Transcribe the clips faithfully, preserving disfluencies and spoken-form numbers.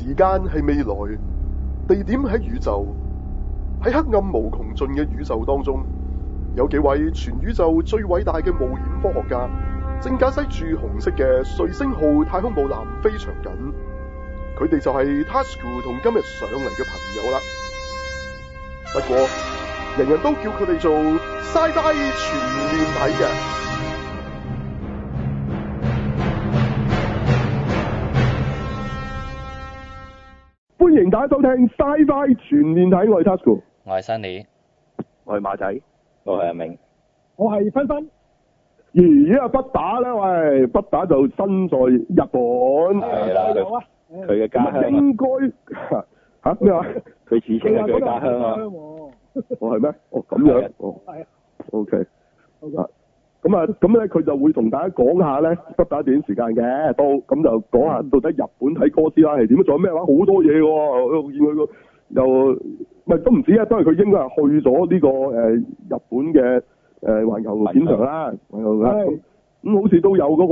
時間係未來，地點喺宇宙，喺黑暗無窮盡嘅宇宙當中，有幾位全宇宙最偉大嘅冒險科學家，正駕駛住紅色嘅瑞星號太空母艦飛翔緊。佢哋就係 Tasuku 同今日上嚟嘅朋友啦。不過，人人都叫佢哋做 Sci-Fi 全面睇嘅。歡迎大家收聽 Sci-Fi 全面睇，我係 Tasuku， 我係 Sunny， 我係馬仔， 我係阿明， 我係芬芬。 咦啊，不打咧，喂，不打就身在日本， 係啦，佢嘅家鄉應該吓咩話？ 佢自稱係佢家鄉啊！ 哦係咩？哦咁樣，哦係啊 ，OK，啊咁啊咁咧，佢就會同大家講下咧，不打短時間嘅，都咁就講下到底日本睇哥斯拉係點，仲有咩話？好多嘢喎，我見佢個又唔係都唔止啊，都係佢應該係去咗呢個誒日本嘅誒環球片場啦，環球啦。咁好似都有嗰個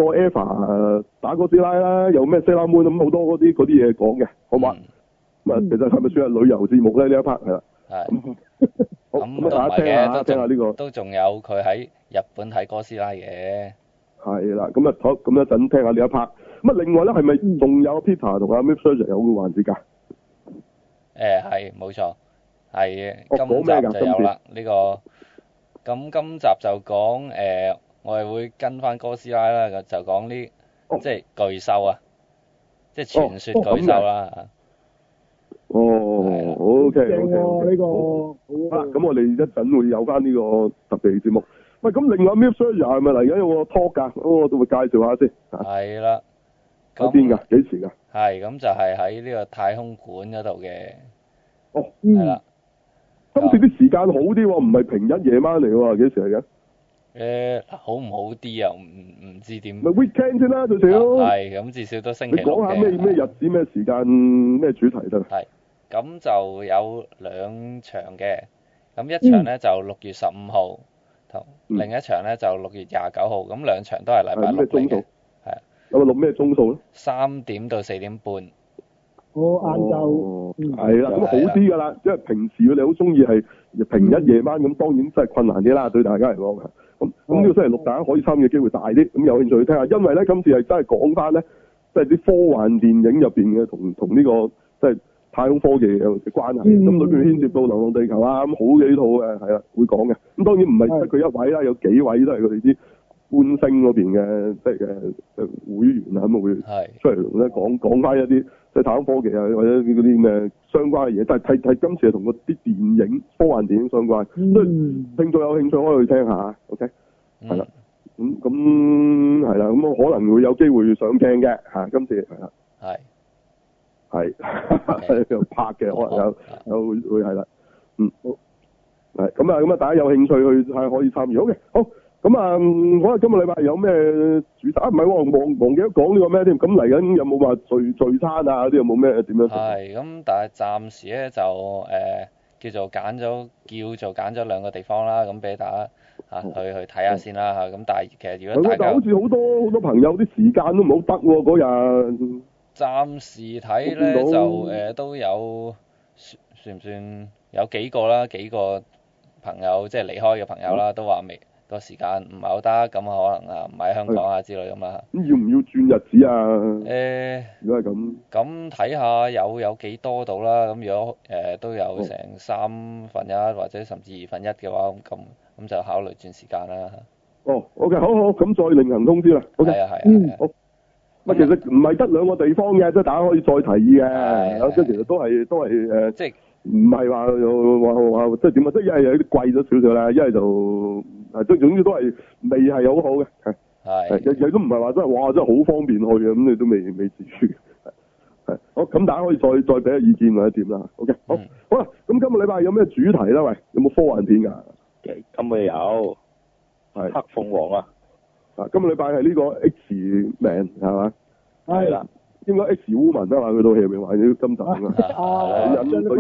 Eva 打哥斯拉啦，有咩 Sailor Moon 咁好多嗰啲嗰啲嘢講嘅，好嘛？咁啊、嗯，其實係咪算係旅遊節目咧？呢一 part 係啦。 係。 好，咁大家聽下，聽下呢個。 都仲有佢喺日本睇哥斯拉嘅。係啦，咁啊好，咁一陣聽下呢一 part。咁啊，另外咧係咪仲有 Peter 同阿 MythSearcher 有個環節㗎？ 誒係，冇錯，係今集就有啦。呢、呢個咁今集就講誒。呃我哋會跟翻哥斯拉啦，就講啲、哦、即係巨獸啊，即係傳說巨獸啦。 哦，哦 OK， 正喎呢個。 好啦，咁我哋一陣會有翻呢個特別節目。喂，咁另外 MythSearcher 係咪嚟緊有個 talk 㗎？我都會介紹下先。 係啦。 喺邊㗎？幾時㗎？ 係，咁就係喺呢個太空館嗰度嘅。 哦。 係啦。 今次啲時間好啲喎，唔係平日夜晚嚟喎，幾時嚟嘅？ 誒，好唔好啲啊？唔唔知點。 咪 weekend 先啦，最少。 係，咁至少都星期六嘅。你講下咩咩日子、咩時間、咩主題得啦。 係，咁就有兩場嘅，咁一場咧就六月十五號，同另一場咧就六月廿九號，咁兩場都係禮拜六嚟嘅。係。 有冇錄咩鐘數咧？ 三點到四點半。 我晏晝。 係啦，咁好啲㗎啦，因為平時佢哋好中意係平日夜晚，咁當然真係困難啲啦，對大家嚟講。咁咁呢個星期六大家可以參與嘅機會大啲，咁有興趣去聽下，因為咧今次係真係講翻咧，即係啲科幻電影入邊嘅同同呢個即係太空科技嘅關係，咁裏邊牽涉到《流浪地球》啊，咁好幾套嘅係啦會講嘅，咁當然唔係得佢一位啦，有幾位都係佢哋啲觀星嗰邊嘅即係嘅誒會員啊，咁啊會出嚟咧講講翻一啲即係太空科技啊或者嗰啲咩相關嘅嘢，但係睇睇今次係同嗰啲電影科幻電影相關，所以聽眾有興趣可以去聽下 ，OK， 係啦，咁咁係啦，咁我可能會有機會上鏡嘅嚇，今次係啦，係係又拍嘅，可能有有會會係啦，嗯好，係咁啊咁啊，大家有興趣去係可以參與，好嘅，好。咁啊，可能今個禮拜有咩主題啊？唔係喎，忘忘記咗講呢個咩添？咁嚟緊有冇話聚聚餐啊？啲有冇咩點樣？ 係咁，但係暫時咧就誒、呃、叫做揀咗叫做揀咗兩個地方啦，咁俾大家嚇、啊、去去睇下先啦嚇。咁、啊、但係其實如果大家好似好多好多朋友啲時間都唔好得喎嗰日。 暫時睇咧就誒、呃、都有算唔算有幾個啦？幾個朋友即係離開嘅朋友啦，嗯、都話未。個時間唔係好得，咁可能啊唔喺香港啊之類咁啦。 咁要唔要轉日子啊？誒、 欸， 如果係咁， 咁睇下有有幾多度啦。咁如果誒、呃、都有成三分一或者甚至二分一嘅話，咁咁就考慮轉時間啦。 哦，OK，好好，咁再另行通知啦。OK， 係啊係啊。 嗯，好。乜其實唔係得兩個地方嘅，即係大家可以再提議嘅。即係其實都係都係誒。即係唔係話話話即係點啊？即係一係有啲貴咗少少啦，一係就。係，即係總之都係未係好好嘅，係係，日日都唔係話真係哇，真係好方便去嘅，咁你都未未至於，係係，好，咁大家可以再再俾下意見或者點啦 ，OK，好，嗯、好啦，咁今個禮拜有咩主題咧？喂，有冇科幻片㗎？ 今個有，係黑鳳凰啊， 啊，今個禮拜係呢個 X Man 係嘛？ 係啦， 應該 X Woman 啊嘛，佢套戲入面話啲金頭啊，引對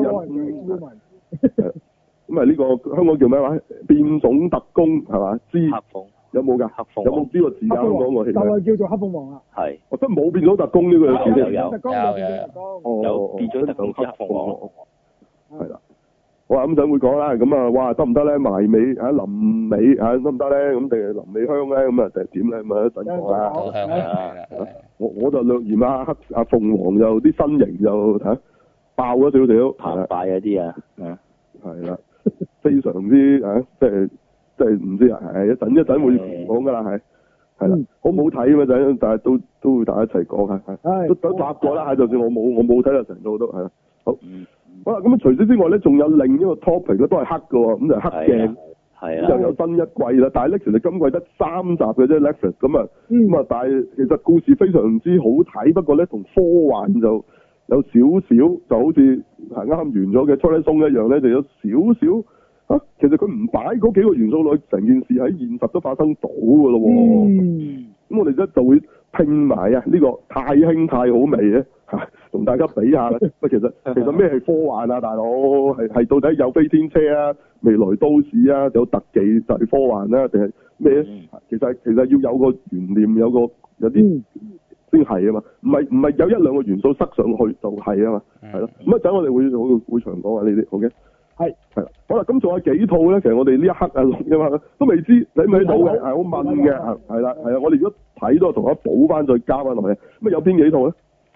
引。咁啊呢個香港叫咩話？變種特工係嘛？之黑鳳有冇㗎？ 黑鳳有冇呢個字㗎？香港個戲就名？ 係叫做黑鳳凰啦。 係我真冇變咗特工呢個字有有特工有變咗特工。 哦， 有變咗特工之黑鳳凰。 係啦。好啊，咁陣會講啦，咁啊，哇，得唔得咧？埋尾嚇臨尾嚇得唔得咧？咁定係臨尾香咧？咁啊，定係點咧？咁啊，一陣講啦。 好香啊！ 我我就略嫌啊黑阿鳳凰就啲身形就嚇爆咗少少， 澎湃嗰啲啊，嗯， 係啦，非常之嚇，即係即係唔知啊，係一陣一陣會講㗎啦，係係啦，好唔好睇啊嘛？陣但係都都會大家一齊講下，係都都答過啦，就算我冇我冇睇到成套都係啦，好。好啦，咁除此之外咧，仲有另一個 topic 咧，都係黑嘅喎，咁就係黑鏡， 係啊， 又有新一季啦。但係咧，其實今季得三集嘅啫，Netflix 咁啊，咁啊，但係其實故事非常之好睇，不過咧同科幻就有少少，就好似係啱啱完咗嘅《Twilight Zone》一樣咧，就有少少啊。其實佢唔擺嗰幾個元素落去，成件事喺現實都發生到嘅咯喎。 嗯。 咁我哋咧就會拼埋啊呢個太輕太好味咧嚇，同大家比下啦。喂，其實其實咩係科幻啊，大佬？係係到底有飛天車啊、未來都市啊、有特技就係科幻啦、啊，定係咩？其實其實要有個懸念，有個有啲先係啊嘛。唔係唔係有一兩個元素塞上去就係啊嘛，係咯。咁一陣我哋會會會長講下呢啲，OK？係係啦，好啦，咁仲有幾套咧？其實我哋呢一刻啊錄嘅嘛，都未知睇唔睇到嘅，係好問嘅，係啦係啊，我哋如果睇到同我補翻再加翻落去，咁啊有邊幾套咧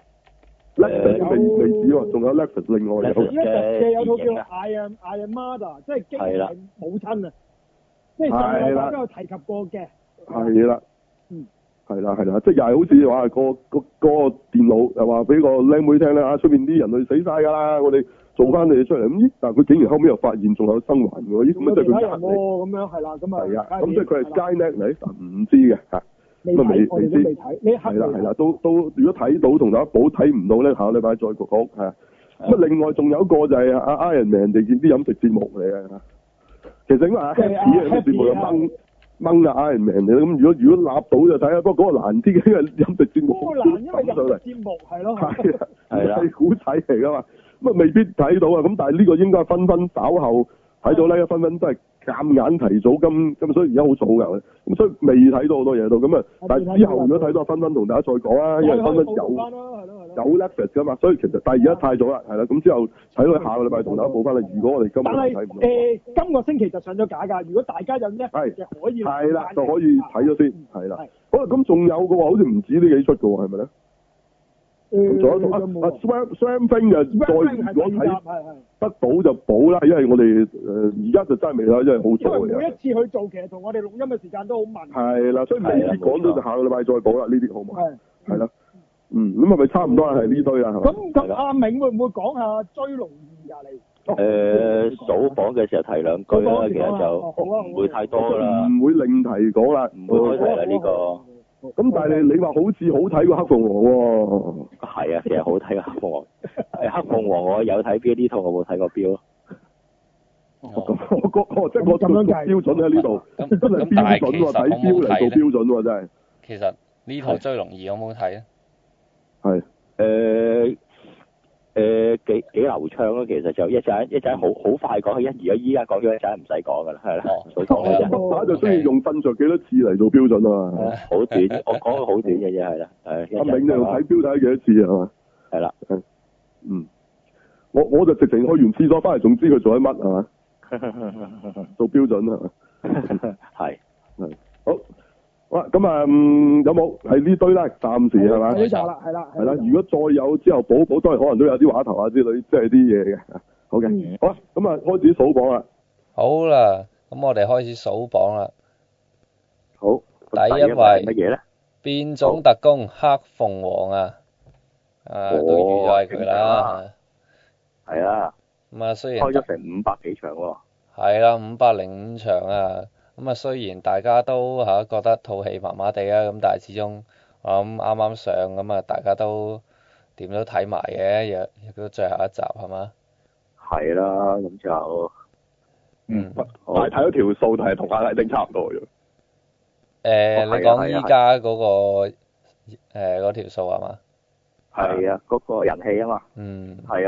？Netflix 未未止喎，仲有 Netflix 另外有嘅。 Netflix 嘅有套叫 I Am I Am Mother，即係經係母親啊，即係上個禮都有提及過嘅。係啦，嗯，係啦係啦，即係又係好似話個個個電腦又話俾個靚妹聽咧啊，出面啲人類死晒㗎啦，我哋做翻你哋出嚟咁，咦？但係佢竟然後尾又發現仲有生還喎，咦？咁即係佢人嚟咁樣係啦，咁啊係啊，咁即係佢係 Skynet 嚟，但唔知嘅嚇，咁啊未未知，係啦係啦，都都如果睇到同大家補，睇唔到咧，下個禮拜再講係啊。咁啊，另外仲有一個就係阿 Iron Man 哋啲飲食節目嚟嘅，其實應該係 Happy 嘅節目又掹掹阿 Iron Man 嚟咁如果如果立到就睇下，不過嗰個難啲嘅，因為飲食節目嗰個難，因為飲食節目係咯，係啊係啊，係古仔嚟㗎嘛。咁啊未必睇到啊，咁但係呢個應該分分稍後睇到咧，分分都係夾硬提早咁，咁所以而家好早㗎，咁所以未睇到好多嘢到，咁啊，但係之後如果睇到，分分同大家再講啊，因為分分有有 Netflix 㗎嘛，所以其實但係而家太早啦，係啦，咁之後睇到下個禮拜同大家補翻啦。如果我哋今日睇唔到，誒今個星期就上咗架㗎，如果大家有 Netflix 嘅可以係啦，就可以睇咗先，係啦。好啦，咁仲有嘅話，好似唔止呢幾出嘅喎，係咪咧？仲有一套啊啊 Swamp Swamp Thing 就再如果睇得到就補啦，因為我哋誒而家就真係未啦，因為好早嘅。因為每一次去做，其實同我哋錄音嘅時間都好密。係啦，所以未必講到就下個禮拜再補啦，呢啲好嘛？係係啦，嗯，咁係咪差唔多係呢堆啊？咁咁阿銘會唔會講下追龍二啊？你誒數榜嘅時候提兩句啦，其實就唔會太多啦， 唔會另題講啦， 唔會開題啦呢個。 咁但係你你話好似好睇過黑鳳凰喎？ 係啊，其實好睇過黑鳳凰。係黑鳳凰我有睇標呢套，我冇睇過標咯。 哦，我我即係我咁樣計標準喺呢度，真係標準喎，睇標嚟做標準喎，真係。 其實呢套追龍二好唔好睇啊？ 係誒誒幾幾流暢咯，其實就一陣一陣好好快講，一而家依家講咗一陣唔使講噶啦，係啦。所以講嘅啫。打就中意用瞓着幾多次嚟做標準啊嘛。好短，我講個好短嘅啫，係啦。係。阿銘就睇標睇幾多次係嘛？係啦。嗯。我我就直情去完廁所翻嚟，仲知佢做緊乜係嘛？做標準係嘛？係係好。好啦，咁啊，有冇係呢堆啦？暫時係嘛？呢集啦，係啦，係啦。如果再有之後補補，都係可能都有啲話頭啊之類，即係啲嘢嘅。好嘅，好啦，咁啊，開始數榜啦。 好啦，咁我哋開始數榜啦。 好。 第一位乜嘢咧？ 變種特工黑鳳凰啊！啊，都預咗係佢啦。 係啊。 咁啊，雖然開咗成五百幾場喎。 係啦，五百零五場啊。咁啊，雖然大家都嚇覺得套戲麻麻地啊，咁但係始終我諗啱啱上，咁啊大家都點都睇埋嘅，亦亦都最後一集係嘛？係啦，咁就嗯，但係睇咗條數，但係同阿麗丁差唔多嘅。 誒，你講依家嗰個誒嗰條數係嘛？ 係啊，嗰個人氣啊嘛。 嗯。 係啊，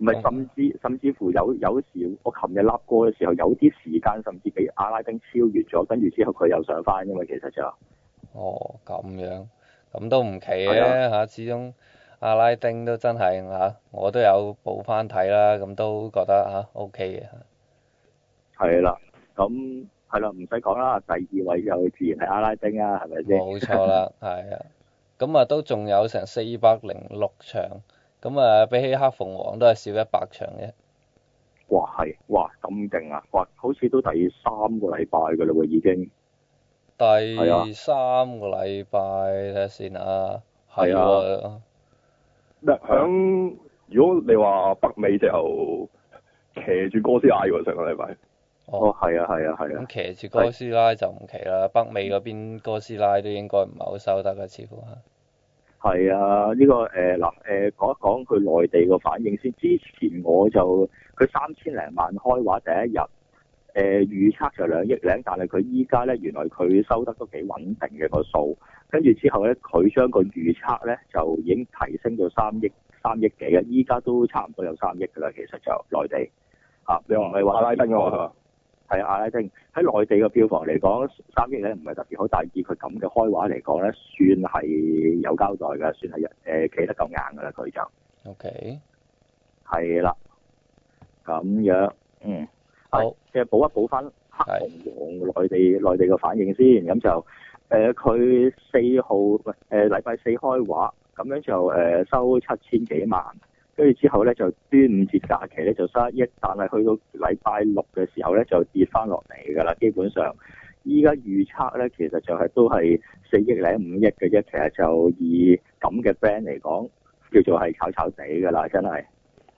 唔係，甚至甚至乎有有時我琴日立過嘅時候，有啲時間甚至俾阿拉丁超越咗，跟住之後佢又上翻㗎嘛，其實就哦咁樣，咁都唔奇嘅嚇，始終阿拉丁都真係嚇，我都有補翻睇啦，咁都覺得嚇 O K 嘅。 係啦，咁係啦，唔使講啦，第二位就自然係阿拉丁啊，係咪先？ 冇錯啦，係啊，咁啊都仲有成四百零六場。咁啊，比起黑鳳凰都係少一百場嘅。 哇，係，哇咁勁啊！哇，好似都第三個禮拜㗎啦喎，已經。 第三個禮拜睇下先啊。係啊。 咩？響如果你話北美就騎住哥斯拉喎，上個禮拜。 哦，係啊，係啊，係啊。 咁騎住哥斯拉就唔奇啦，北美嗰邊哥斯拉都應該唔係好收得嘅，似乎係。 係啊，呢、這個誒嗱誒講一講佢內地個反應先。之前我就佢三千零萬開畫第一日，誒、呃、預測就兩億零，但係佢依家咧原來佢收得都幾穩定嘅個數。跟住之後咧，佢將個預測咧就已經提升到三億三億幾啊！依家都差唔多有三億㗎啦，其實就內地嚇。你話唔係話阿拉丁㗎嘛？係阿拉丁喺內地嘅票房嚟講，三億咧唔係特別好，但係以佢咁嘅開畫嚟講咧，算係有交代嘅，算係誒企得夠硬㗎啦，佢就。 O K。係啦。咁樣，嗯。 好。 即係補一補翻黑鳳凰內地內地嘅反應先，咁就誒佢四號誒禮拜四開畫，咁樣就誒、呃、收七千幾萬。跟住之後咧，就端午節假期咧就收一億，但係去到禮拜六嘅時候咧就跌翻落嚟㗎啦。基本上，依家預測咧其實就係都係四億零五億嘅啫。其實就以咁嘅 brand 嚟講，叫做係炒炒地㗎啦，真係。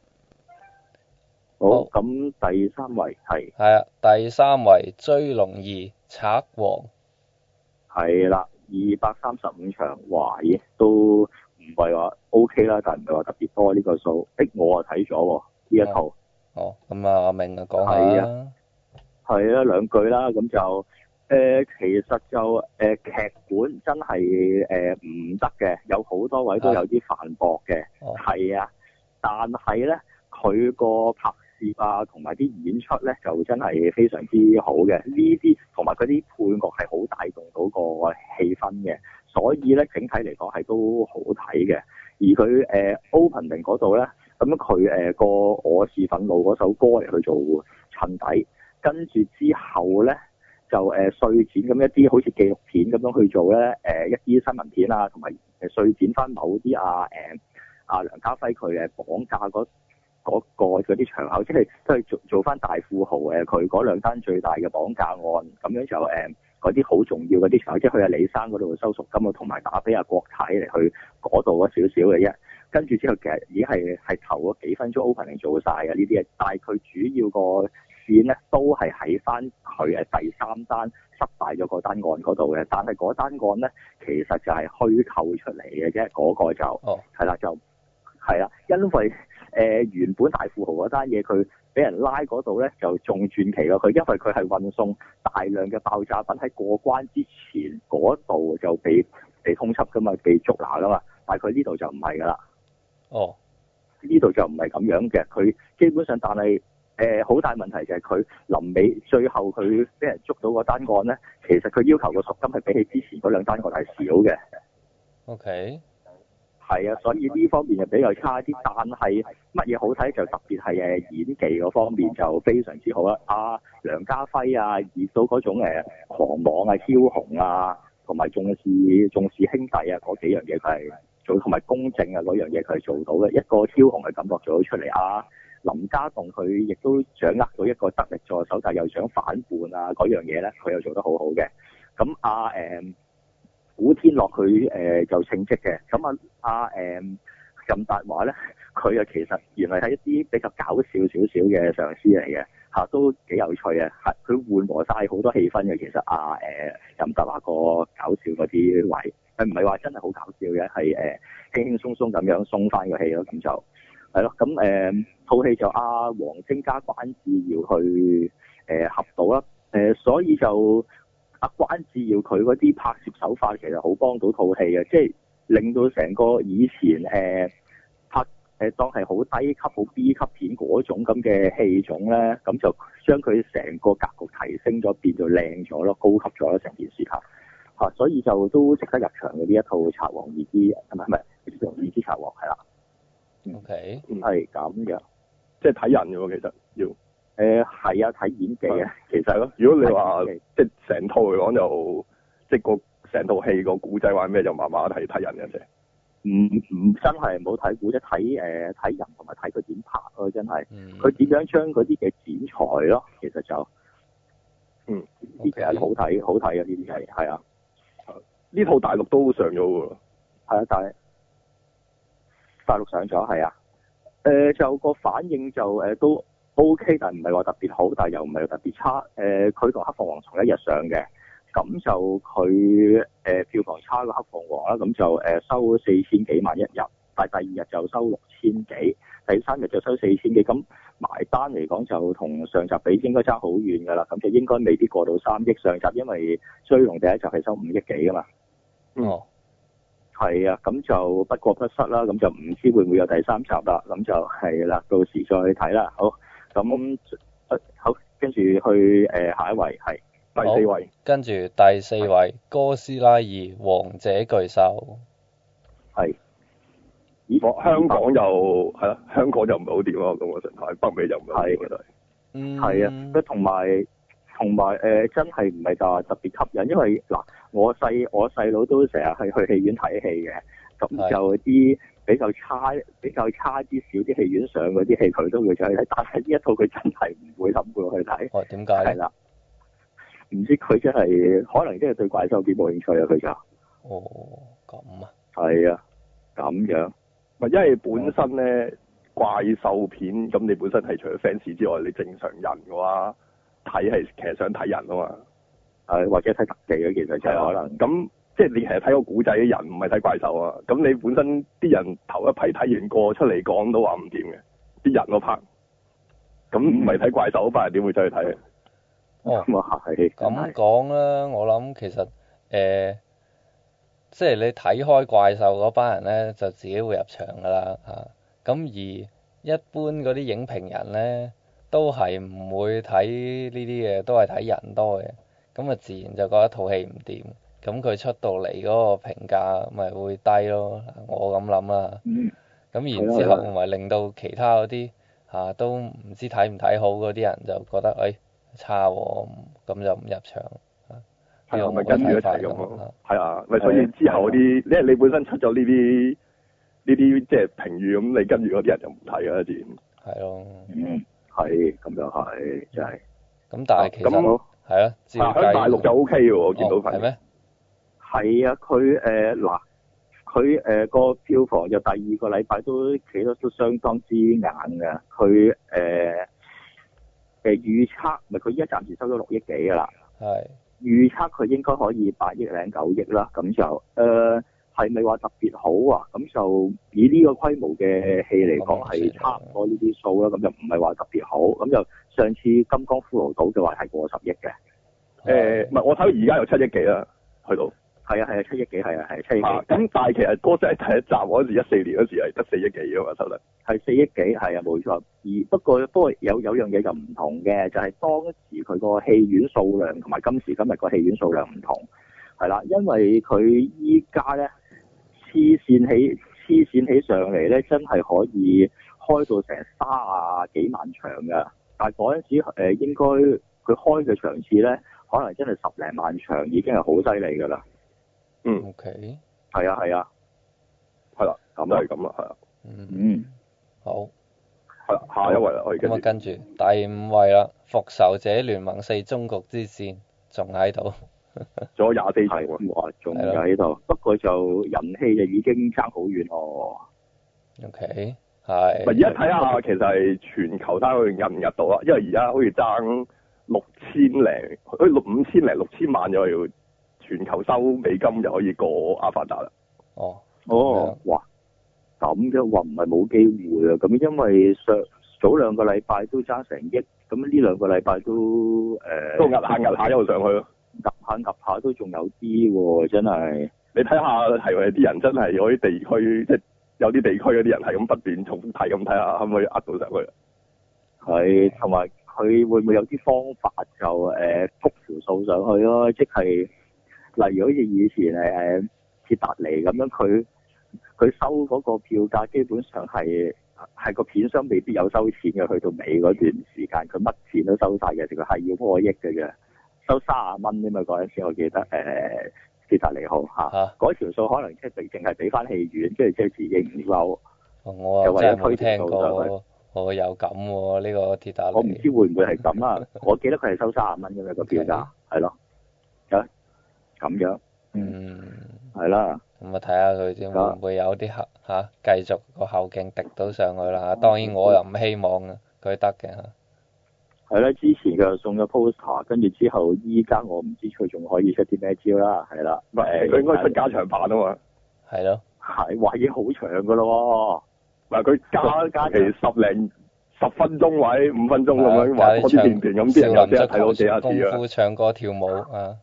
好，咁第三位係。係啊，第三位追龍二賊王。 係啦，二百三十五場，哇！咦，都〜唔係話 O K 啦，但係唔係話特別多呢個數。誒，我啊睇咗喎呢一套。 哦，咁啊，阿明啊講下啦。 係啊，兩句啦，咁就誒、呃，其實就誒、呃、劇本真係誒唔得嘅，有好多位都有啲反駁嘅。係啊，但係咧，佢個拍攝啊，同埋啲演出咧，就真係非常之好嘅。呢啲同埋嗰啲配樂係好帶動到個氣氛嘅。所以咧，整體嚟講係都好睇嘅。而佢誒、呃、opening 嗰度咧，咁佢誒個我是憤怒嗰首歌嚟去做襯底，跟住之後咧就誒碎剪咁一啲好似紀錄片咁樣去做咧，誒、呃、一啲新聞片啊，同埋誒碎剪翻某啲啊誒阿、呃、梁家輝佢誒綁架嗰嗰個嗰啲場口，即係都係做做翻大富豪誒佢嗰兩單最大嘅綁架案，咁樣就誒。呃嗰啲好重要嗰啲場，即係去阿李生嗰度收贖金啊，同埋打俾阿國泰嚟去嗰度嗰少少嘅啫。跟住之後其實已經係係頭嗰幾分鐘 opening 做晒嘅呢啲嘢，但係佢主要個線咧都係喺翻佢誒第三單失敗咗個單案嗰度嘅。但係嗰單案咧其實就係虛構出嚟嘅啫，嗰、嗰個就係啦、oh. 就係啦，因為誒、呃、原本大富豪嗰單嘢佢。俾人拉嗰度咧就仲傳奇咯，佢因為佢係運送大量嘅爆炸品喺過關之前嗰度就被被通緝噶嘛，被捉拿噶嘛，但係佢呢度就唔係噶啦。哦，呢度就唔係咁樣嘅，佢基本上但係誒好大問題就係佢臨尾最後佢俾人捉到個單案咧，其實佢要求個贖金係比起之前嗰兩單案係少嘅。OK。係啊，所以呢方面就比較差啲，但係乜嘢好睇就特別係誒演技嗰方面就非常之好啦。阿、啊、梁家輝啊，演到嗰種誒狂妄啊、梟雄啊，同埋重視重視兄弟啊嗰幾樣嘢佢係做，同埋公正啊嗰樣嘢佢係做到嘅，一個梟雄嘅感覺做到出嚟啊。林家棟佢亦都掌握到一個得力助手，但係又想反叛啊嗰樣嘢咧，佢又做得好好嘅。咁阿誒。古天樂佢誒、呃、就稱職嘅，咁啊阿誒任達華咧，佢啊其實原來係一啲比較搞笑少少嘅上司嚟嘅嚇，都幾有趣啊！係佢緩和晒好多氣氛嘅，其實啊誒、呃、任達華個搞笑嗰啲位，佢唔係話真係好搞笑嘅，係誒、呃、輕輕鬆鬆咁樣鬆翻個氣咯，咁就係咯。咁誒套戲就阿王晶加關智耀去誒、呃、合到啦，誒、呃、所以就。阿關智耀佢嗰啲拍攝手法其實好幫到套戲嘅，即係令到成個以前誒、呃、拍誒當係好低級、好 B 級片嗰種咁嘅戲種咧，咁就將佢成個格局提升咗，變到靚咗咯，高級咗咯，成件事嚇嚇，所以就都值得入場嘅呢一套《賊王二之》，唔係唔係《賊王二之賊王》係啦。 O K， 係咁嘅， 即係睇人嘅喎，其實要。 誒係啊，睇演技啊，其實咯。 如果你話即係成套嚟講就，即係個成套戲個古仔話咩就麻麻睇睇人嘅啫。 唔唔真係唔好睇古仔，睇誒睇人同埋睇佢點拍咯，真係。佢點、嗯、樣將嗰啲嘅剪裁咯，其實就，嗯，呢啲係好睇，好睇啊！呢啲係係啊。 呢套大陸都上咗喎。 係啊，但係大陸上咗係啊。誒、呃、就個反應就誒、呃、都 OK， 但係唔係話特別好，但係又唔係特別差。誒佢同黑鳳凰同一日上嘅。咁就佢誒、呃、票房差過黑鳳凰啦，咁就誒、呃、收四千幾萬一日，但係第二日就收六千幾，第三日就收四千幾，咁埋單嚟講就同上集比應該差好遠㗎啦，咁就應該未必過到三億。上集因為追龍第一集係收五億幾㗎嘛。 哦。 係啊，咁就不過不失啦，咁就唔知會唔會有第三集啦，咁就係啦，到時再睇啦。好，咁好，跟住去誒、呃、下一位係。 第四位， 跟住第四位哥斯拉二王者巨獸，係， 咦？香港又係啦，香港就唔係好掂咯，咁我想睇北美就唔係好掂， 嗯，係啊，同埋同埋誒，真係唔係話特別吸引，因為嗱，我細我細佬都成日係去戲院睇戲嘅，咁就啲比較差比較差啲少啲戲院上嗰啲戲，佢都會上去睇，但係呢一套佢真係唔會諗過去睇。 哦，點解？ 係啦。唔知佢真係可能真係對怪獸幾冇興趣啊！佢就哦咁啊， 係啊，咁樣唔係因為本身咧怪獸片咁，你本身係除咗 fans 之外，你正常人嘅話睇係其實想睇人啊嘛， 係或者睇特技嘅，其實就係可能咁即係你其實睇個古仔嘅人，唔係睇怪獸啊。咁你本身啲人頭一批睇完過出嚟講都話唔掂嘅，啲人嗰 part 咁唔係睇怪獸嗰班人點會再去睇啊？ 哦，咁講啦，我諗其實誒、呃，即係你睇開怪獸嗰班人咧，就自己會入場噶啦嚇。咁、啊、而一般嗰啲影評人咧，都係唔會睇呢啲嘅，都係睇人多嘅。咁啊，自然就覺得套戲唔掂。咁佢出到嚟嗰個評價咪會低咯。我咁諗啦。嗯。咁然之後咪令到其他嗰啲嚇都唔知睇唔睇好嗰啲人就覺得誒、哎差喎，咁就唔入場。 係咪跟住一齊咁咯？係啊，咪所以之後嗰啲，因為你本身出咗呢啲呢啲即係評語，咁你跟住嗰啲人就唔睇㗎啦，自然。係咯。嗯，係，咁就係，真係。咁但係其實係啊，喺大陸就 O K 嘅喎，我見到係。係咩？ 係啊，佢誒嗱，佢誒個票房就第二個禮拜都企得都相當之硬嘅，佢誒。呃誒預測咪佢依家暫時收咗六億幾㗎啦，係預測佢應該可以八億零九億啦，咁就誒係咪話特別好啊？咁就以呢個規模嘅戲嚟講係差唔多呢啲數啦，咁就唔係話特別好。咁就上次金剛骷髏島嘅話係過十億嘅， 誒唔係我睇到而家有七億幾啦，去到。 係啊係啊，七億幾係啊係七億幾。 咁但係其實哥斯拉第一集嗰時一四年嗰時係得四億幾㗎嘛收得。 係四億幾係啊冇錯。而不過不過有有樣嘢就唔同嘅，就係、是、當時佢個戲院數量同埋今時今日個戲院數量唔同。係啦，因為佢依家咧黐線起黐線起上嚟咧，真係可以開到成卅幾萬場㗎。但係嗰陣時誒應該佢開嘅場次咧，可能真係十零萬場已經係好犀利㗎啦。嗯 ，OK， 係啊係啊， 係啦，咁就係咁啦，係啊， 嗯嗯，好， 係啦，下一位啦，可以跟住。 咁啊，跟住第五位啦，《復仇者聯盟四：終局之戰》仲喺度， 仲有廿四場喎， 哇，仲喺度，不過就人氣就已經爭好遠咯。 OK，係。 咪而家睇下，其實係全球睇下佢入唔入到啦，因為而家好似爭六千零，好似六五千零六千萬就要。全球收美金就可以過阿凡達啦。 哦， 哦，哇，咁嘅話唔係冇機會啊！咁因為上早兩個禮拜都爭成億，咁呢兩個禮拜都誒、呃、 都壓下壓下一路上去咯， 壓下壓下都仲有啲喎，真係。 你睇下係咪啲人真係嗰啲地區，即係有啲地區嗰啲人係咁不斷重複睇咁睇下，可唔可以呃到上去？ 係，同埋佢會唔會有啲方法就誒谷條數上去咯？即係例如好似以前誒鐵達尼咁樣，佢佢收嗰個票價基本上係係個片商未必有收錢嘅，去到尾嗰段時間佢乜錢都收晒嘅，佢係要破億嘅啫，收卅蚊啫嘛嗰陣時，我記得誒。呃鐵達尼號嚇，嗰條數可能即係淨係俾翻戲院，跟住即係自己唔收。 我又真係冇聽過，我有咁喎呢個鐵達尼。 我唔知會唔會係咁啊？我記得佢係收三十蚊咁樣個票價，係咯，啊咁樣， 嗯， 係啦。 咁啊睇下佢先會唔會有啲後嚇繼續個後勁滴到上去啦。當然我又唔希望啊，佢得嘅嚇。 係啦，之前佢又送咗 poster， 跟住之後依家我唔知佢仲可以出啲咩招啦，係啦。 唔係，佢應該出加長版啊嘛。 係咯。 係，話已經好長噶咯喎。 唔係佢加加期十零十分鐘位五分鐘咁樣話嗰啲片段咁，啲人又即係睇到幾下次啊。 功夫唱歌跳舞啊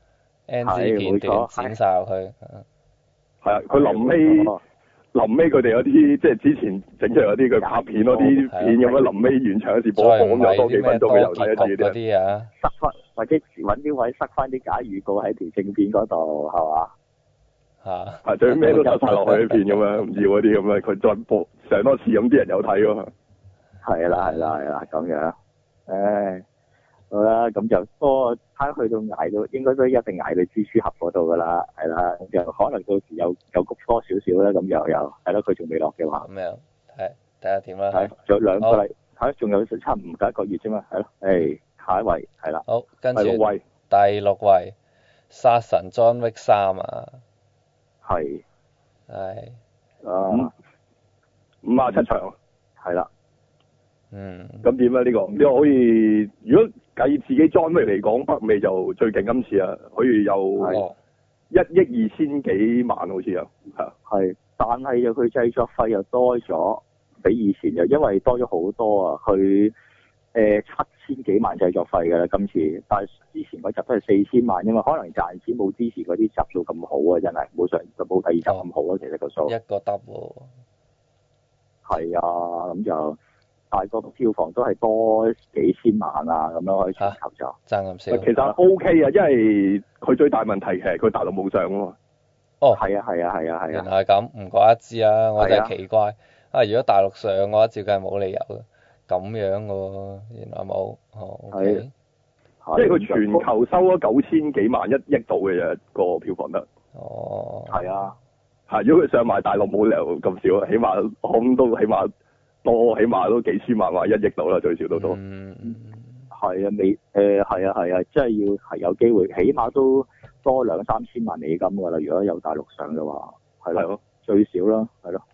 ，N G 片段剪晒落去。 係啊，佢臨尾。臨尾佢哋嗰啲即係之前整出嚟嗰啲佢拍片嗰啲片咁樣，臨尾完場嗰時播放又多幾分鐘嘅又睇一次啲啊， 塞翻或者揾啲位塞翻啲假預告喺條正片嗰度係嘛？ 嚇！ 係最尾都塞晒落去啲片咁樣，唔要嗰啲咁樣，佢再播上多次咁啲人有睇喎。係啦係啦係啦咁樣，唉。好啦，咁就多睇去到捱到，應該都一定捱到蜘蛛俠嗰度噶啦，係啦，咁就可能到時有有谷多少少啦，咁又有，係咯，佢仲未落嘅話。 咁樣，係睇下點啦。 係，仲有兩個禮，係，仲有差唔夠一個月啫嘛，係咯，誒，下一位係啦。 好，跟住第六位， 第六位，殺神 John Wick 三啊。 係。 係。 啊。 五啊七場。係啦。 嗯。 咁點咧？呢個呢個可以，如果計自己 John Wick嚟講，北美就最勁今次啊，可以有一億二千幾萬好似啊，係。 係，但係又佢製作費又多咗，比以前又因為多咗好多啊，佢誒七千幾萬製作費㗎啦今次，但係之前嗰集都係四千萬啫嘛，可能賺錢冇之前嗰啲集數咁好啊，真係冇上冇第二集咁好啊，其實個數。 一個得喎。 係啊，咁就。大個票房都係多幾千萬啊，咁樣可以全球就爭咁少。 其實 O K 啊，因為佢最大問題其實佢大陸冇上啊嘛。 哦， 係啊，係啊，係啊，係啊。 原來係咁，唔怪得知啊，我就係奇怪啊！如果大陸上嘅話，照計冇理由咁樣嘅喎，原來冇。哦，係。 即係佢全球收咗九千幾萬一億度嘅啫，個票房得。 哦。 係啊。 係，如果佢上埋大陸冇理由咁少啊，起碼我諗都起碼。多起碼都幾千萬或一億到啦，最少都多。 嗯，係啊，未誒係啊係啊，即係要係有機會，起碼都多兩三千萬美金㗎啦。如果有大陸上嘅話，係咯，最少啦，係咯。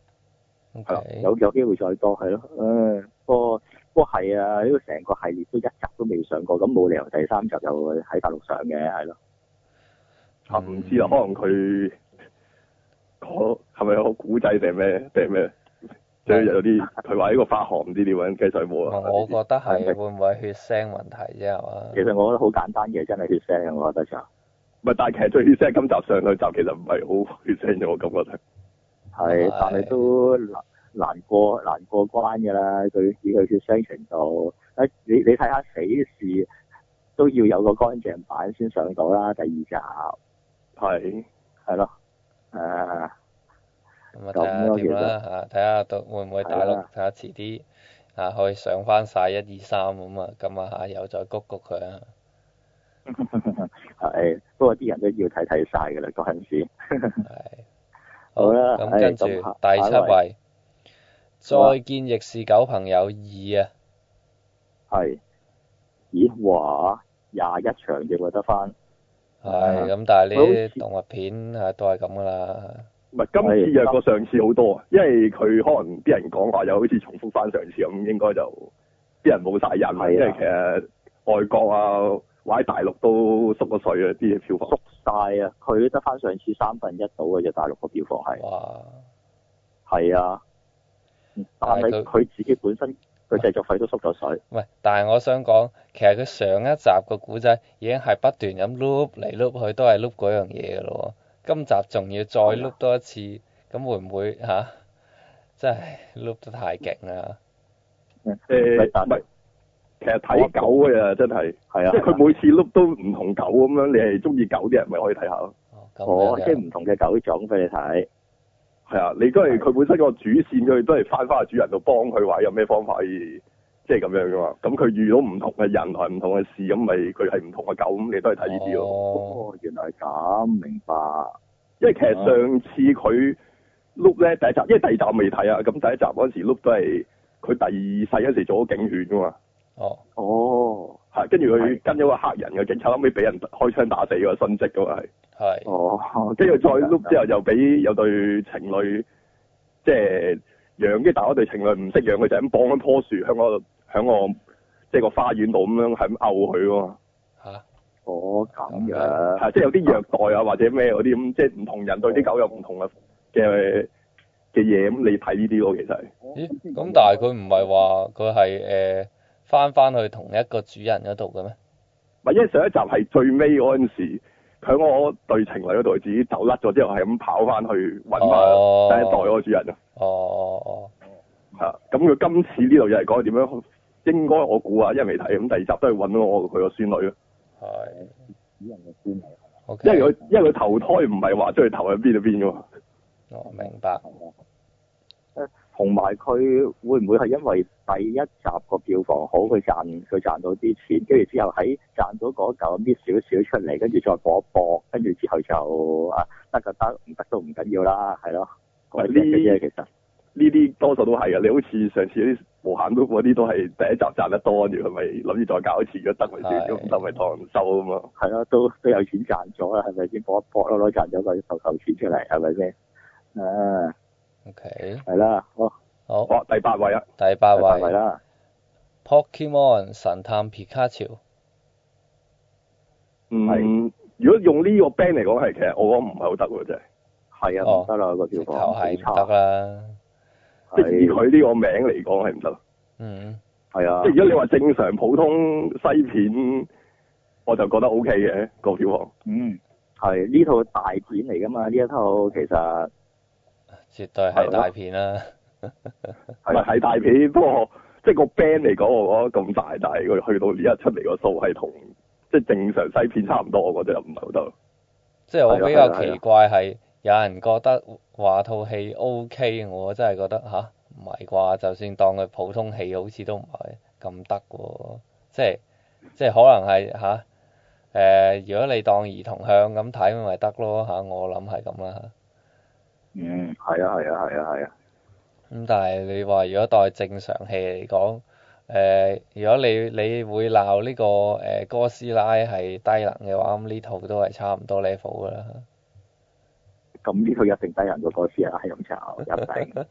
Okay. 有有機會再多係咯。誒，不過不過係啊，呢個成個系列都一集都未上過，咁冇理由第三集就喺大陸上嘅，係咯。 啊，唔知啊，可能佢嗰係咪有個古仔定咩定咩？即係有啲佢話呢個發行唔知點樣計水冇啊！ 我覺得係會唔會血腥問題啫係嘛？ 其實我覺得好簡單嘅，真係血腥，我覺得就唔係，但係其實最血腥今集上兩集其實唔係好血腥嘅，我感覺係。 係，但係都難難過難過關㗎啦！佢以佢血腥程度，誒你你睇下死侍都要有個乾淨版先上到啦，第二集係係咯，誒。 咁啊睇下點啦嚇，睇下到會唔會大陸睇下遲啲嚇可以上翻晒一二三咁啊，咁啊嚇又再谷谷佢啊。 係，不過啲人都要睇睇晒㗎啦嗰陣時。 係。 好啦， 咁跟住第七位，再見亦是狗朋友二啊。 係。咦？哇！廿一場嘅喎得翻。 係，咁但係呢啲動物片啊都係咁㗎啦。 唔係今次弱過上次好多啊，因為佢可能啲人講話又好似重複翻上次咁，應該就啲人冇晒癮啊，因為其實外國啊或者大陸都縮咗水啊啲票房。縮晒啊！佢得翻上次三分一到嘅啫，大陸個票房係。哇！係啊，但係佢自己本身佢製作費都縮咗水。 喂，但係我想講，其實佢上一集個古仔已經係不斷咁 loop 嚟 loop 去，都係 loop 嗰樣嘢㗎咯喎。今集仲要再碌多一次，咁會唔會嚇真係碌得太勁啦。 誒唔係，其實睇狗嘅啊，真係係啊，即係佢每次碌都唔同狗咁樣，你係中意狗啲人咪可以睇下咯。 哦，即係唔同嘅狗種俾你睇。 係啊，你都係佢本身個主線，佢都係翻返去主人度幫佢話有咩方法可以即係咁樣噶嘛。咁佢遇到唔同嘅人同唔同嘅事，咁咪佢係唔同嘅狗，咁你都係睇呢啲咯。 哦，原來係咁，明白。 因為其實上次佢碌咧第一集，因為第二集我未睇啊，咁第一集嗰時碌都係佢第二世嗰時做咗警犬噶嘛。 哦。 哦。 係，跟住佢跟咗個黑人嘅警察，後尾俾人開槍打死個殉職噶嘛係。 係。 哦。跟住再碌之後又俾有對情侶，即係養，跟住但係嗰對情侶唔識養，佢就咁綁喺棵樹喺個喺個即係個花園度咁樣係咁毆佢噶嘛。 嚇？ 哦，咁樣。 係，即係有啲虐待啊或者咩嗰啲咁，即係唔同人對啲狗有唔同嘅嘅嘅嘢，咁你睇呢啲咯，其實。 咦？咁但係佢唔係話佢係誒翻翻去同一個主人嗰度嘅咩？ 唔係，因為上一集係最尾嗰陣時，佢喺我對情侶嗰度自己走甩咗之後，係咁跑翻去揾翻第一代嗰個主人啊。 哦哦哦。 係啊，咁佢今次呢度又係講點樣？應該我估啊，因為未睇，咁第二集都係揾到我佢個孫女咯。 係。 主人嘅孫女。 因為佢因為佢投胎唔係話將佢投喺邊度邊㗎嘛。 哦，明白。 誒，同埋佢會唔會係因為第一集個票房好，佢賺佢賺到啲錢，跟住之後喺賺到嗰嚿搣少少出嚟，跟住再搏一搏，跟住之後就啊得就得，唔得都唔緊要啦，係咯。呢啲嘢其實呢啲多數都係嘅，你好似上次啲無限 loop 嗰啲都係第一集賺得多，跟住佢咪諗住再搞一次，如果得咪算，如果唔得咪當收啊嘛。 係咯，都都有錢賺咗啦，係咪先？搏一搏咯，攞賺咗個頭頭錢出嚟，係咪先？啊。 O K。 係啦，好。 好。 好，第八位啊。 第八位。 係啦。 Pokemon 神探皮卡丘。 嗯。如果用呢個 band 嚟講係，其實我講唔係好得喎，真係。 係啊，唔得啦個票房。 頭係唔得啦。 即係以佢呢個名嚟講係唔得。 嗯。 係啊。 即係如果你話正常普通西片，我就覺得 O K 嘅個票房。 嗯。係呢套大片嚟㗎嘛？呢一套其實。 絕對係大片啦。 係咪係大片？不過即係個 band 嚟講，我覺得咁大，但係佢去到呢一出嚟個數係同即係正常西片差唔多，我覺得又唔係好得。 即係我比較奇怪係有人覺得話套戲 O K，我真係覺得吓唔係啩？就算當佢普通戲，好似都唔係咁得喎。即係即係可能係吓誒，如果你當兒童向咁睇咪得咯吓，我諗係咁啦。 嗯，係啊，係啊，係啊，係啊。 咁但係你話如果當正常戲嚟講，誒、呃，如果你你會鬧呢、這個誒、呃、哥斯拉係低能嘅話，咁呢套都係差唔多 level 噶啦。 咁呢套一定低能過哥斯拉係咁炒，一定。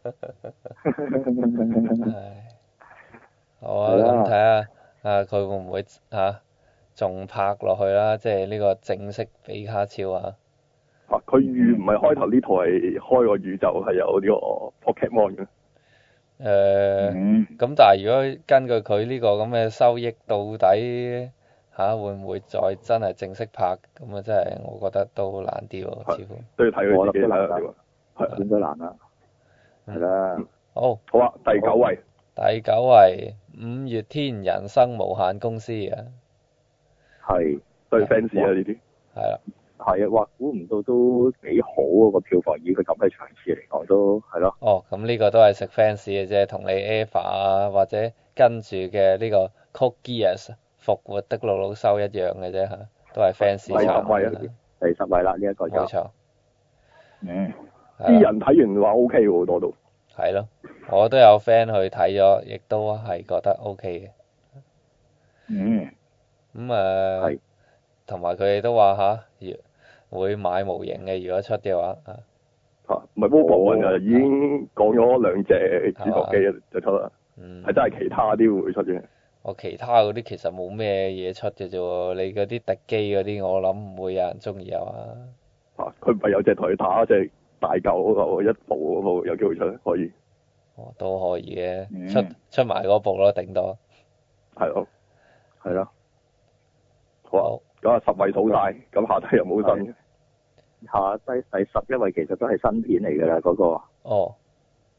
好啊，咁睇下啊，佢會唔會嚇仲拍落去啦？即係呢個正式比卡超啊！ 啊！佢預唔係開頭呢套係開個宇宙係有呢個 Pokemon 嘅。誒、 呃，咁、嗯、但係如果根據佢呢個咁嘅收益，到底嚇、啊、會唔會再真係正式拍？咁啊，真係我覺得都難啲喎，似乎。 都要睇佢自己啦。 係點都難啦。係啦。 好。 好啊，第九位。 第九位，五月天人生無限公司啊。 係。 對 fans 啊呢啲。係啦。 係啊，哇！估唔到都幾好啊個票房，以佢咁嘅場次嚟講都係咯。 哦，咁呢個都係食 fans 嘅啫，同你 Eva 啊，或者跟住嘅呢個 Code Geass 復活的魯魯修一樣嘅啫嚇，都係 fans 場。第十位啊！ 第十位啦，呢、這、一個就。 冇錯。 嗯。 啲人睇完話 OK 喎，好多都。 係咯，我都有 friend 去睇咗，亦都係覺得 OK 嘅。 嗯。 咁誒。係。同埋佢哋都話嚇，會買模型嘅，如果出嘅話啊。 嚇，唔係 Robo 啊，已經講咗兩隻主角機就出啦。嗯。係真係其他啲會出嘅。 我其他嗰啲其實冇咩嘢出嘅啫喎，你嗰啲敵機嗰啲，我諗唔會有人中意啊嘛。 嚇！佢唔係有隻台打隻大嚿嗰個一部嗰部有機會出，可以。 哦，都可以嘅、嗯，出出埋嗰部咯，頂多。 係咯。 係咯。 好。咁啊，十位數晒，咁下低又冇新嘅。下低第十一位其實都係新片嚟㗎啦，嗰、那個。 哦。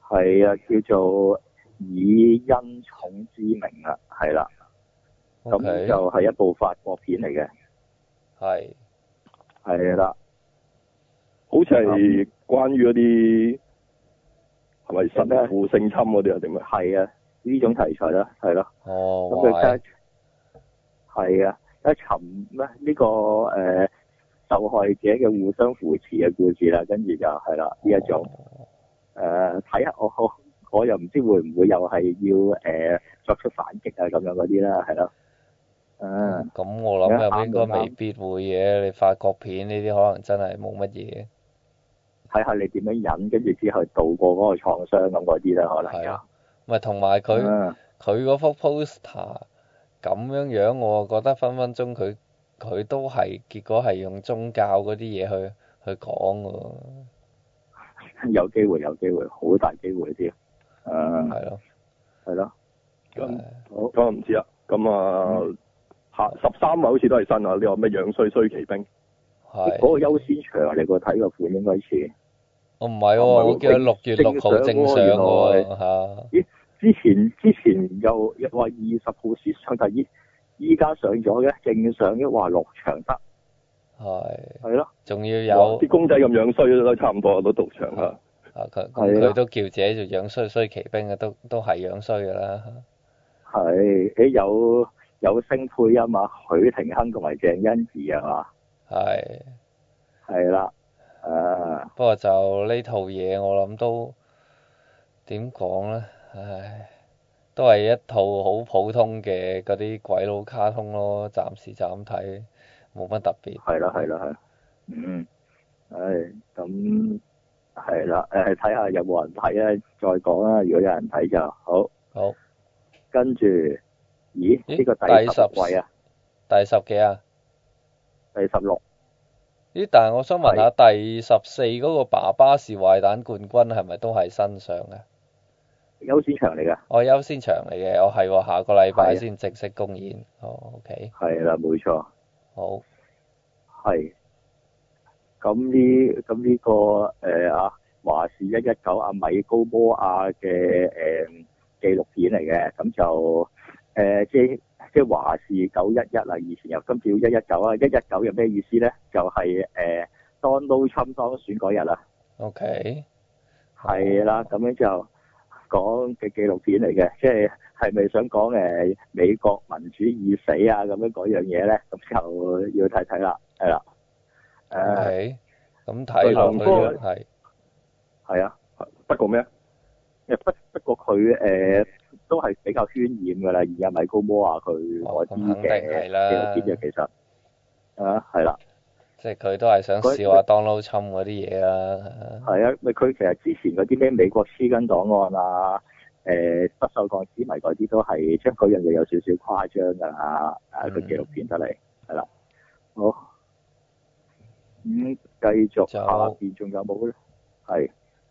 係啊，叫做以恩寵之名啊，係啦。咁 Okay. 就係一部法國片嚟嘅。 係。 係啦。 好似係關於嗰啲係咪神父性侵嗰啲啊？定咩？ 係啊，呢種題材啦，係咯。 哦。 咁佢係啊，一尋咩呢個誒、呃、受害者嘅互相扶持嘅故事啦，跟住就係啦呢一種誒睇下我我我又唔知會唔會又係要誒、呃、作出反擊啊咁樣嗰啲啦，係咯。誒。 咁、嗯、我諗又應該未必會嘅，你法國片呢啲可能真係冇乜嘢。 睇下你點樣忍，跟住之後度過嗰個創傷咁嗰啲啦，可能係啊。 咪同埋佢佢嗰幅 poster 咁樣樣，我覺得分分鐘佢佢都係結果係用宗教嗰啲嘢去去講㗎喎。 有機會，有機會，好大機會添。誒。 係咯。 係咯。 咁好，咁唔知啦。咁啊，下十三號好似都係新啊！呢個咩樣衰衰奇兵？ 係。 嗰個優先場你個睇個款應該似。 我唔係喎，我記得六月六號正上喎嚇。咦？ 之前之前又又話二十號先上，但係依依家上咗嘅，正上嘅話落場得。 係。 係咯。 仲要有啲公仔咁樣衰都差唔多都到場啊。 啊佢佢都叫自己做樣衰衰奇兵嘅，都都係樣衰㗎啦。 係，誒有有聲配音啊，許廷鏗同埋鄭欣宜係嘛？ 係。 係啦。誒， 不過就呢套嘢，我諗都點講咧？唉，都係一套好普通嘅嗰啲鬼佬卡通咯，暫時就咁睇，冇乜特別。 係啦，係啦，係。嗯。唉，咁係啦，誒睇下有冇人睇啊，再講啦。如果有人睇就好。好。跟住，咦？呢、呢個第十位啊？ 第十幾啊？ 第十六。 咦？但係我想問下，第十四嗰個爸爸是壞蛋冠軍係咪都係新上嘅？ 優先場嚟㗎。 哦，優先場嚟嘅，我係喎，下個禮拜先正式公演。哦 ，OK。 係啦，冇錯。好。係。咁呢？咁呢、呢個誒啊華視一一九阿米高摩亞嘅誒紀錄片嚟嘅，咁就誒、呃、即。即係華視九一一啦，以前又今次要一一九啊，一一九有咩意思咧？就係、是、誒 Donald Trump 當選嗰日啦。OK。係啦，咁樣就講嘅紀錄片嚟嘅，即係係咪想講誒美國民主已死啊咁樣嗰樣嘢咧？咁就要睇睇啦，係啦。誒， 咁睇落去係係啊， 不過咩？ 誒不不過佢誒。呃都係比較渲染㗎啦，而家米高摩啊佢嗰啲嘅紀錄片嘅其實啊係啦， 即係佢都係想笑下 Donald Trump 嗰啲嘢啦。係啊， 咪佢其實之前嗰啲咩美國黐根檔案啊，誒不鏽鋼之謎嗰啲都係將嗰樣嘢有少少誇張㗎啦，誒個紀錄片得嚟係啦。好，咁、嗯、繼續下邊仲有冇咧？係。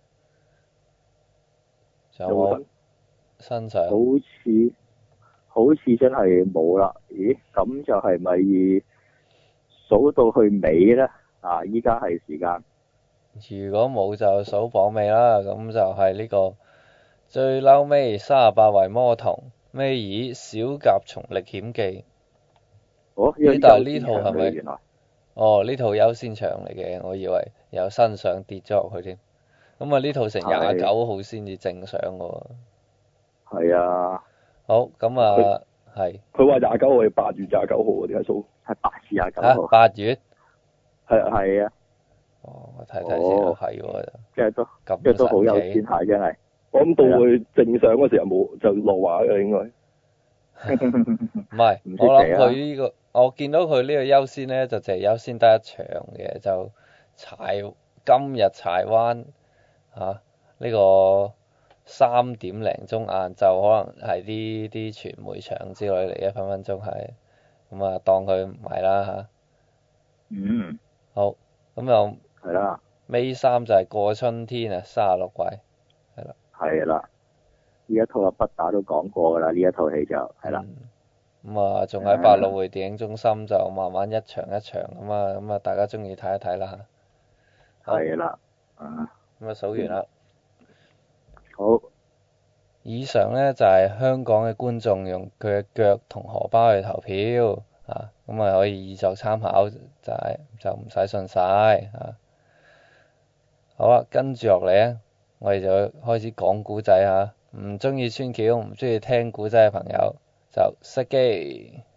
有冇？身上好似好似真係冇啦，咦？咁就係咪數到去尾咧？啊！依家係時間。 如果冇就數榜尾啦，咁就係呢、這個最嬲尾三十八位魔童，尾二小甲蟲歷險記。 哦， 呢但係呢套係咪？原來哦，呢套優先場嚟嘅，我以為有新上跌咗落去添。咁啊，呢套成廿九號先至正上喎。 係啊， 好咁啊，係。 佢話廿九號係八月廿九號喎，點解數？ 係八至廿九號。 八月。 係係啊。 哦，我睇睇先，係喎。 即係都，即係都好有錢下，真係。 我諗到佢正上嗰時候冇就落畫嘅應該。 唔係，我諗佢呢個，我見到佢呢個優先咧，就淨係優先得一場嘅，就柴今日柴灣嚇呢個。三點零鐘晏晝可能係啲啲傳媒場之類嚟嘅，分分鐘係，咁啊當佢唔係啦嚇。嗯。好，咁又。係啦。尾三就係過春天啊，三十六位，係啦。係啦。呢一套啊，不打都講過㗎啦，呢一套戲就係啦。咁啊，仲喺百老匯電影中心就慢慢一場一場咁啊，咁啊大家中意睇一睇啦嚇。係啦。啊。咁啊數完啦。 好。 以上咧就係、是、香港嘅觀眾用佢嘅腳同荷包去投票啊，咁啊可以以作參考，就係就唔使信晒啊。好啊，跟住落嚟咧，我哋就開始講古仔嚇。唔中意穿橋，唔中意聽古仔嘅朋友就熄機。